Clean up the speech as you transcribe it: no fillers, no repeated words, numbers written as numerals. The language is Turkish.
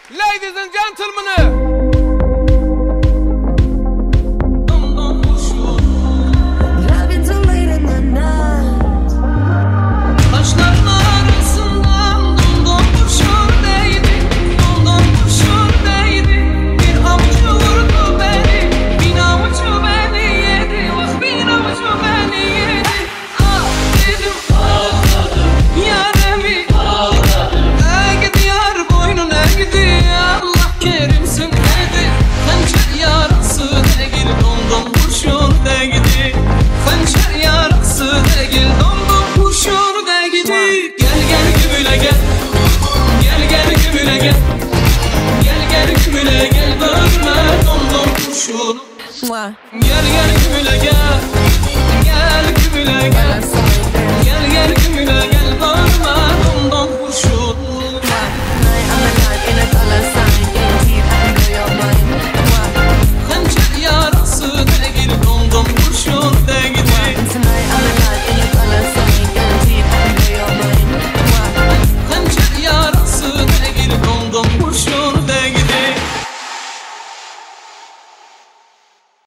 Ladies and gentlemen. Gel gel gümüle gel, gel gümüle gel, gel gel gümüle gel, bağırma domdom kurşun. Hançer yarası değil, domdom kurşun değil. Hançer yarası değil, domdom kurşun değil.